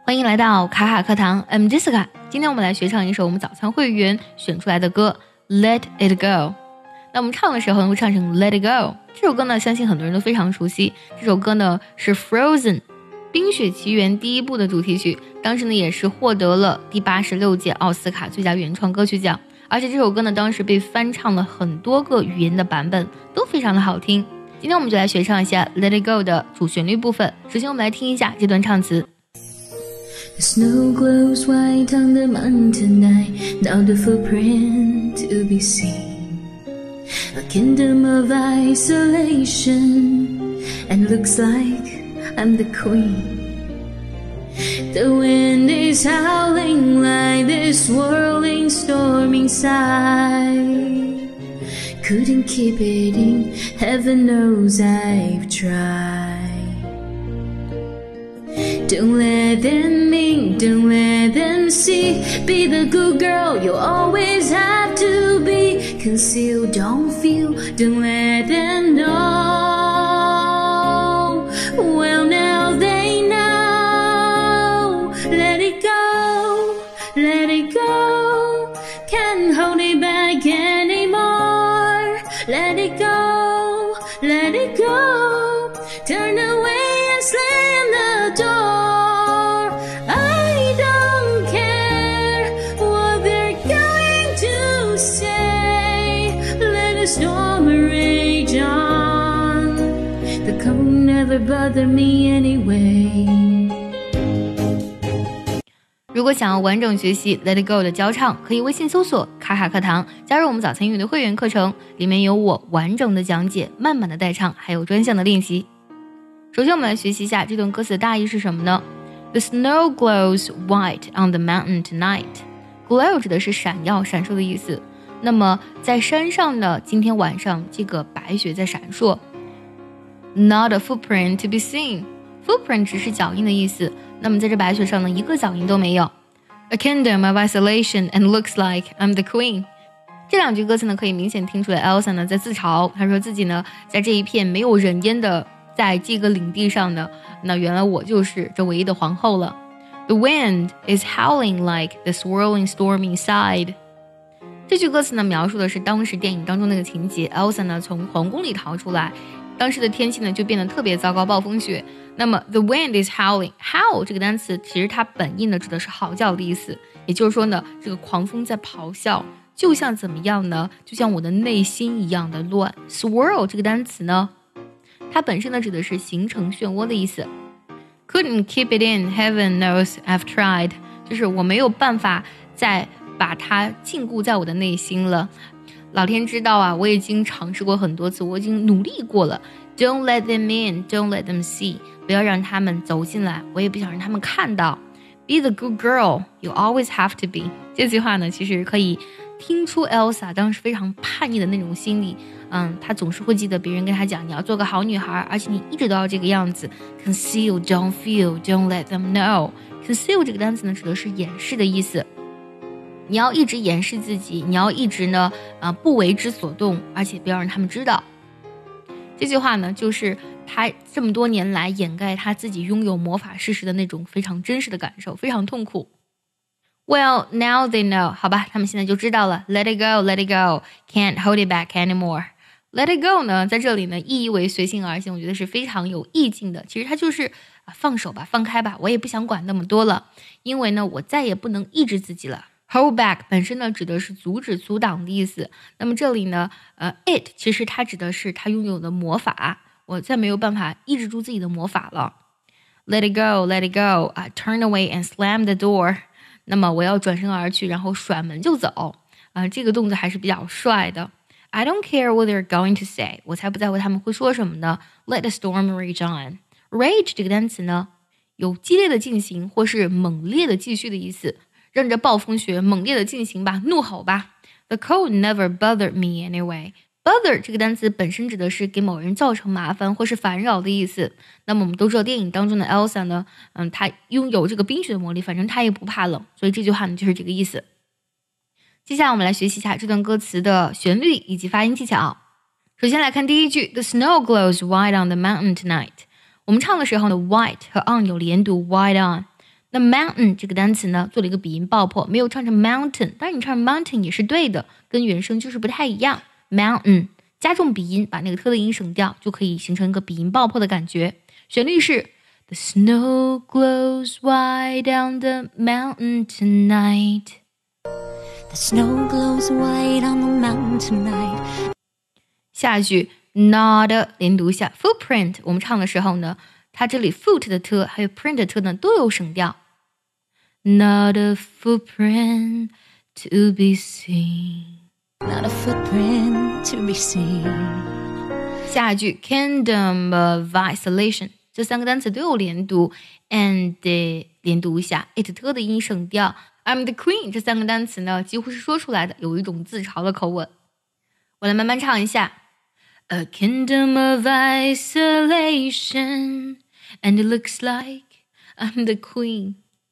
欢迎来到卡卡课堂 I'm Jessica。 今天我们来学唱一首我们早餐会员选出来的歌 Let It Go。 那我们唱的时候呢会唱成 Let It Go。 这首歌呢相信很多人都非常熟悉，这首歌呢是 Frozen 冰雪奇缘第一部的主题曲，当时呢也是获得了第86届奥斯卡最佳原创歌曲奖，而且这首歌呢当时被翻唱了很多个语言的版本，都非常的好听。今天我们就来学唱一下 Let It Go 的主旋律部分。首先我们来听一下这段唱词。 The snow glows white on the mountain tonight, now the footprint to be seen. A kingdom of isolation, and looks like I'm the queen. The wind is howling like this swirling storm inside. Couldn't keep it in, heaven knows I've tried.Don't let them in, don't let them see. Be the good girl you always have to be. Conceal, don't feel, don't let them know. Well, now they know. Let it go, let it go. Can't hold it back anymore. Let it go, let it go. Turn away and slam the door.Storm rage on. The cold never bothered me anyway. 如果想要完整学习 Let It Go 的教唱，可以微信搜索卡卡课堂，加入我们早餐英语的会员课程，里面有我完整的讲解、慢慢的带唱，还有专项的练习。首先我们来学习一下这段歌词的大意是什么呢？ The snow glows white on the mountain tonight. Glow 指的是闪耀、闪烁的意思。那么在山上呢，今天晚上这个白雪在闪烁。 Not a footprint to be seen. Footprint 只是脚印的意思，那么在这白雪上呢，一个脚印都没有。 A kingdom of isolation and looks like I'm the queen. 这两句歌词呢，可以明显听出来 Elsa 呢在自嘲，她说自己呢在这一片没有人烟的在这个领地上呢，那原来我就是这唯一的皇后了。 The wind is howling like the swirling storm inside.这句歌词呢，描述的是当时电影当中那个情节 ，Elsa 呢从皇宫里逃出来，当时的天气呢就变得特别糟糕，暴风雪。那么 the wind is howling， howl 这个单词其实它本意呢指的是嚎叫的意思，也就是说呢，这个狂风在咆哮，就像怎么样呢？就像我的内心一样的乱。swirl 这个单词呢，它本身呢指的是形成漩涡的意思。Couldn't keep it in, heaven knows I've tried， 就是我没有办法在把它禁锢在我的内心了，老天知道啊，我已经尝试过很多次，我已经努力过了。 Don't let them in, don't let them see， 不要让他们走进来，我也不想让他们看到。 Be the good girl you always have to be。 这句话呢其实可以听出 Elsa 当时非常叛逆的那种心理，她总是会记得别人跟她讲，你要做个好女孩，而且你一直都要这个样子。 Conceal, don't feel, don't let them know。 Conceal 这个单词呢指的是掩饰的意思，你要一直掩饰自己，你要一直呢不为之所动，而且不要让他们知道。这句话呢就是他这么多年来掩盖他自己拥有魔法事实的那种非常真实的感受，非常痛苦。 Well, now they know。 好吧，他们现在就知道了。 Let it go, let it go. Can't hold it back anymore. Let it go 呢在这里呢意义为随性而行，我觉得是非常有意境的。其实它就是放手吧，放开吧，我也不想管那么多了，因为呢我再也不能抑制自己了。Hold back 本身呢指的是阻止、阻挡的意思。那么这里呢it 其实它指的是他拥有的魔法，我再没有办法抑制住自己的魔法了。 Let it go, let it go. Turn away and slam the door。 那么我要转身而去，然后甩门就走。这个动作还是比较帅的。 I don't care what they're going to say， 我才不在乎他们会说什么呢。 Let the storm rage on。 Rage 这个单词呢有激烈的进行或是猛烈的继续的意思，让这暴风雪猛烈的进行吧，怒吼吧。 The cold never bothered me anyway。 Bother 这个单词本身指的是给某人造成麻烦或是烦扰的意思。那么我们都知道电影当中的 Elsa 呢，她拥有这个冰雪的魔力，反正她也不怕冷，所以这句话呢就是这个意思。接下来我们来学习一下这段歌词的旋律以及发音技巧。首先来看第一句 The snow glows white on the mountain tonight。 我们唱的时候呢 white 和 on 有连读 white on。 那 mountain 这个单词呢，做了一个鼻音爆破，没有唱成 mountain， 但是你唱 mountain 也是对的，跟原声就是不太一样。mountain 加重鼻音，把那个特的音省掉，就可以形成一个鼻音爆破的感觉。旋律是 The snow glows white on the mountain tonight. The snow glows white on the mountain tonight. 下一句 not 连读一下 footprint， 我们唱的时候呢，它这里 foot 的特还有 print 的特呢都有省掉。Not a footprint to be seen. Not a footprint to be seen. 下一句 kingdom of isolation， 这三个单词都有连读 and 连读一下 it 特的音省掉。I'm the queen 这三个单词呢几乎是说出来的，有一种自嘲的口吻。我来慢慢唱一下。A kingdom of isolation, and it looks like I'm the queen.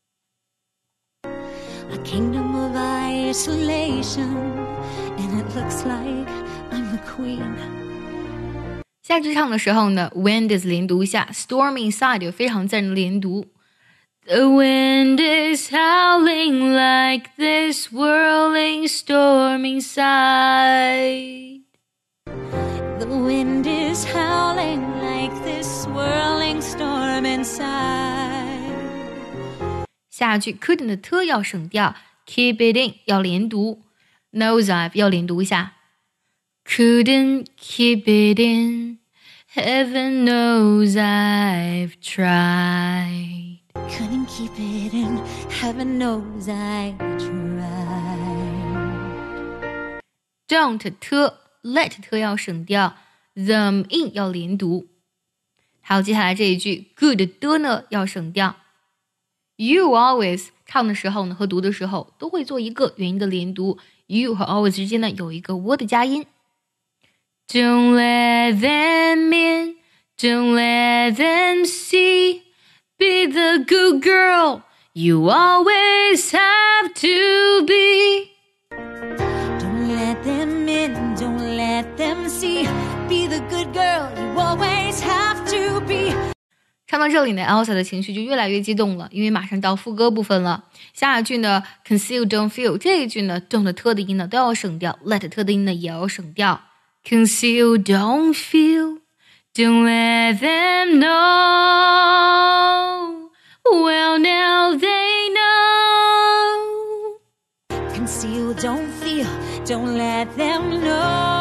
A kingdom of isolation, and it looks like I'm the queen. 下句唱的时候呢 wind is 连读一下 storm inside 有非常自然的连读。The wind is howling like this whirling storm inside. The wind is howling like this swirling storm inside. 下句 couldn't 的特要省掉 keep it in 要连读 nosedive 要连读一下 couldn't keep it in heaven knows I've tried. Couldn't keep it in, heaven knows I tried. Don't 特 let 特要省掉 them in 要连读。还有接下来这一句 good 的呢要省掉。You always 唱的时候呢和读的时候都会做一个元音的连读， you 和 always 之间呢有一个 w 的加音。Don't let them in, don't let them see, be the good girl you always have to be. Don't let them in, don't let them see, be the good girl you always have to be. 唱到这里呢 Elsa 的情绪就越来越激动了，因为马上到副歌部分了。下一句呢 conceal don't feel 这一句呢 don't 特的音呢都要省掉， let 特的音呢也要省掉。Conceal don't feel, don't let them know, well now they know. Conceal, don't feel, don't let them know.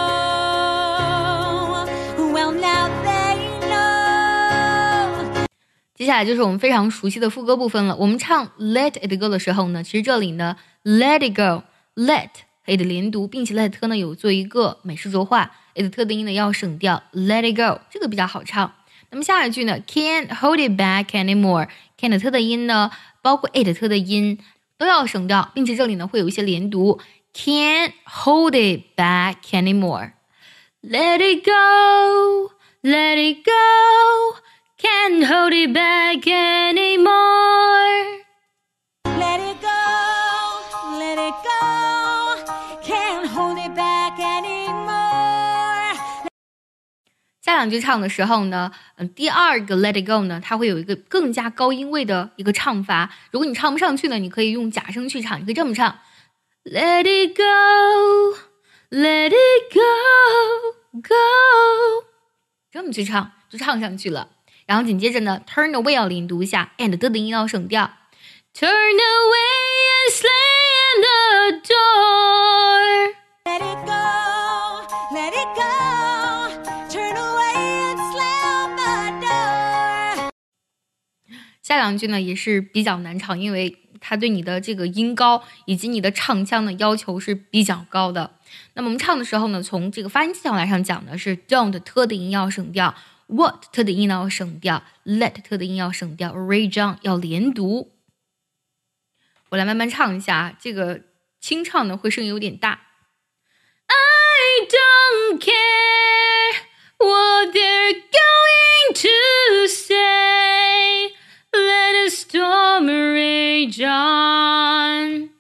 Well now they know. 接下来就是我们非常熟悉的副歌部分了。我们唱 let it go 的时候呢，其实这里呢 let it go let 和 it 连读，并且 let 特呢有做一个美式浊化， it 特的音呢要省掉 let it go 这个比较好唱。那么下一句呢 can't hold it back anymore， can't 特的音呢包括 it 特的音都要省掉，并且这里呢会有一些连读 can't hold it back anymore. Let it go, let it go, can't hold it back anymore. Let it go, let it go, can't hold it back anymore. 下两句唱的时候呢，第二个 let it go 呢，它会有一个更加高音位的一个唱法。如果你唱不上去呢，你可以用假声去唱，你可以这么唱 Let it go, let it go, go 这么去唱，就唱上去了。然后紧接着呢 turn away 要连读一下 and 的音要省掉 Turn away and slam the door. Let it go, let it go, turn away and slam the door. 下两句呢也是比较难唱，因为它对你的这个音高以及你的唱腔的要求是比较高的。那么我们唱的时候呢，从这个发音技巧来上讲呢，是 don't 特的音要省掉， what 特的音要省掉， let 特的音要省掉， read on 要连读。我来慢慢唱一下，这个清唱呢会声音有点大。I don't care what they're going to say, let a storm rage on.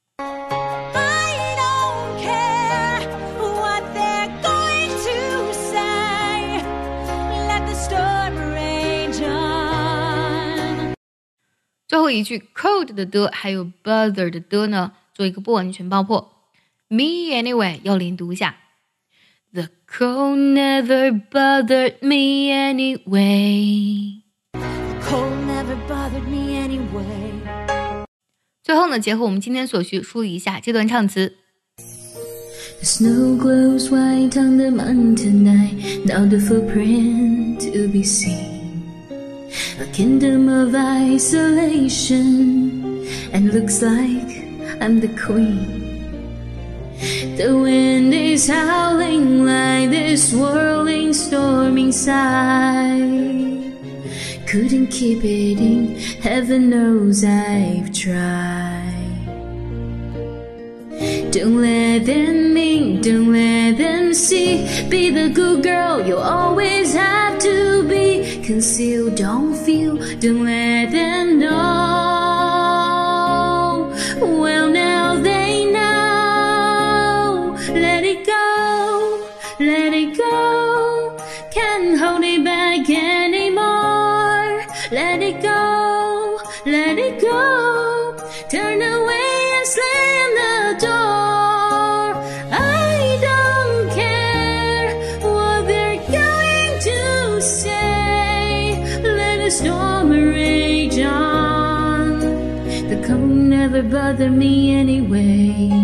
I don't care what they're going to say, let the storm rage on. 最后一句 cold 的的还有 bother 的的呢，做一个不完全爆破。Me anyway 要连读一下。The cold never bothered me anyway. The cold never bothered me anyway. 最后呢，结合我们今天所学，梳理一下这段唱词。 The snow glows white on the mountain tonight, now the footprint to be seen. A kingdom of isolation, and looks like I'm the queen. The wind is howling like this whirling storm inside. Couldn't keep it in, heaven knows I've tried. Don't let them in, don't let them see. Be the good girl you always have to be. Conceal, don't feel, don't let them know. Well, now they know. Let it go, let it go. Can't hold it back anymore. Let it go, let it go. Turn away and slam the door. I don't care what they're going to say. Let the storm rage on. The cold never bothered me anyway.